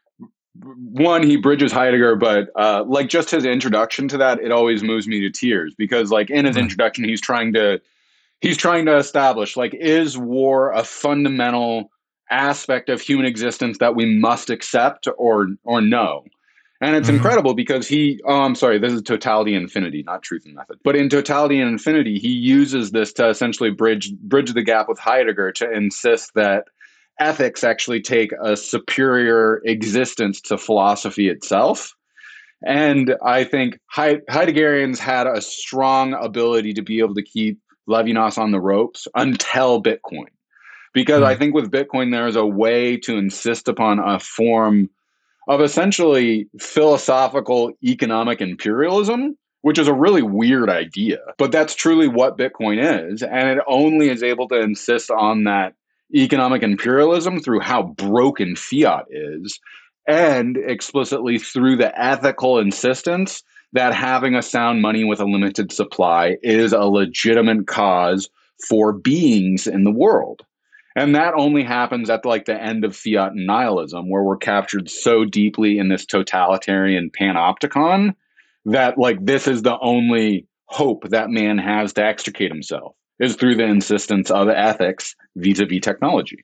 One, he bridges Heidegger, but uh, like just his introduction to that, it always moves me to tears because, like in his mm. introduction, he's trying to he's trying to establish like is war a fundamental aspect of human existence that we must accept or or no? And it's mm-hmm. incredible because he oh I'm sorry, this is Totality and Infinity, not Truth and Method. But in Totality and Infinity, he uses this to essentially bridge bridge the gap with Heidegger to insist that ethics actually take a superior existence to philosophy itself. And I think Heideggerians had a strong ability to be able to keep Levinas on the ropes until Bitcoin. Because mm. I think with Bitcoin, there is a way to insist upon a form of essentially philosophical economic imperialism, which is a really weird idea. But that's truly what Bitcoin is. And it only is able to insist on that economic imperialism through how broken fiat is, and explicitly through the ethical insistence that having a sound money with a limited supply is a legitimate cause for beings in the world. And that only happens at like the end of fiat and nihilism, where we're captured so deeply in this totalitarian panopticon that like this is the only hope that man has to extricate himself, is through the insistence of ethics vis-a-vis technology.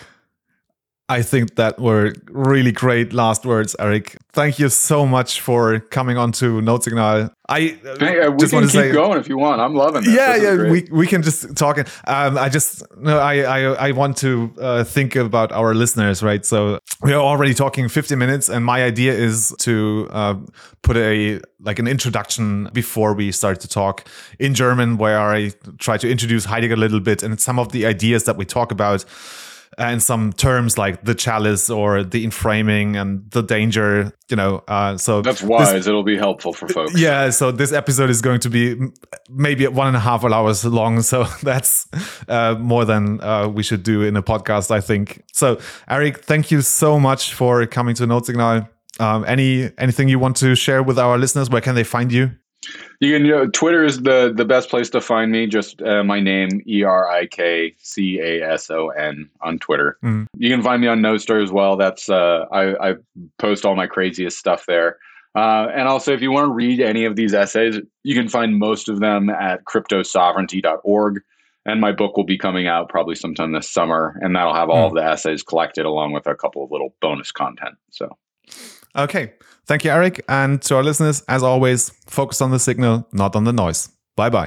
I think that were really great last words, Eric. Thank you so much for coming on to Notsignal. I hey, uh, we just can want to keep say, going if you want. I'm loving this. Yeah, this yeah, we we can just talk. Um, I just no, I I I want to uh, think about our listeners, right? So we are already talking fifty minutes, and my idea is to uh, put a like an introduction before we start to talk in German, where I try to introduce Heidegger a little bit and some of the ideas that we talk about. And some terms like the chalice or the inframing and the danger, you know. Uh, so that's wise. This, It'll be helpful for folks. Yeah. So this episode is going to be maybe one and a half hours long. So that's uh, more than uh, we should do in a podcast, I think. So Eric, thank you so much for coming to Notsignal. Um, any anything you want to share with our listeners? Where can they find you? You can, you know, Twitter is the, the best place to find me. Just uh, my name, E R I K C A S O N on Twitter. Mm. You can find me on Nostr as well. That's uh, I, I post all my craziest stuff there. Uh, and also, if you want to read any of these essays, you can find most of them at crypto sovereignty dot org. And my book will be coming out probably sometime this summer. And that'll have all mm. of the essays collected along with a couple of little bonus content. So, okay. Thank you, Eric. And to our listeners, as always, focus on the signal, not on the noise. Bye-bye.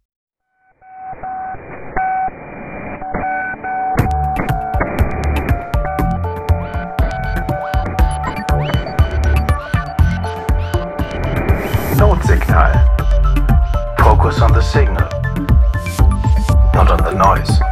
Notsignal. Focus on the signal, not on the noise.